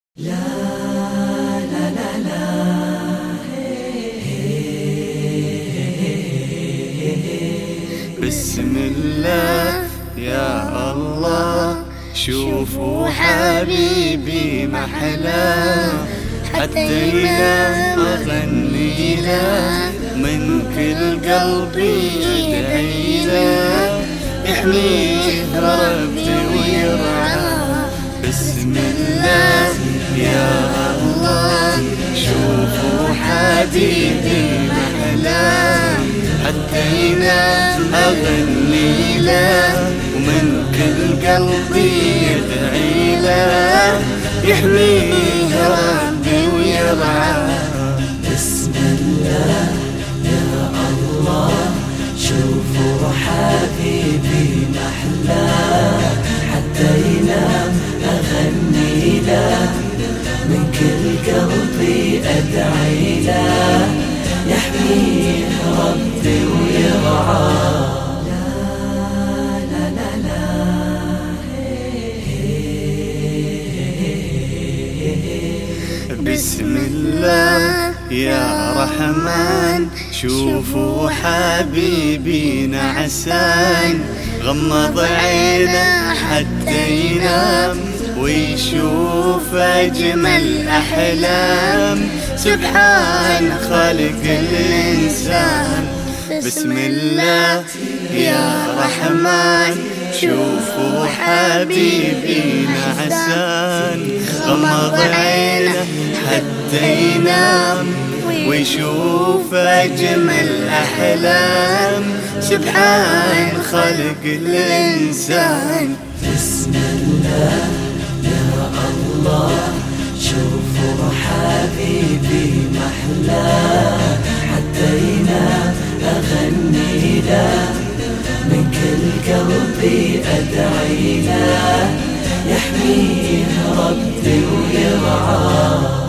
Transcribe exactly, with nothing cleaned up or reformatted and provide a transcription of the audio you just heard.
لا لا لا لا بسم الله يا الله، شوفوا حبيبي محلاه، حتى ينام أغني له، من كل قلبي أدعي له، يحميه ربي ويرعاه. بسم الله يا الله، شوفوا حبيبي محلاه، حتى ينام أغني له، ومن كل قلبي يدعي له، يحميه ربي ويرعاه. بسم الله يا الله، شوفوا حبيبي محلاه، حتى ينام أغني له، من كل قلبي أدعي له، يحميه ربي ويرعاه. بسم الله يا رحمن، شوفوا حبيبي نعسان، غمض عينه حتى ينام، ويشوف أجمل أحلام، سبحان خالق الإنسان. بسم الله يا رحمن، شوفوا حبيبي نعسان، غمض عينه حتى ينام، ويشوف أجمل أحلام، سبحان خالق الإنسان. بسم الله يا الله، شوفوا حبيبي محلاه، حتى ينام أغني له، من كل قلبي أدعي له، يحميه ربي ويرعاه.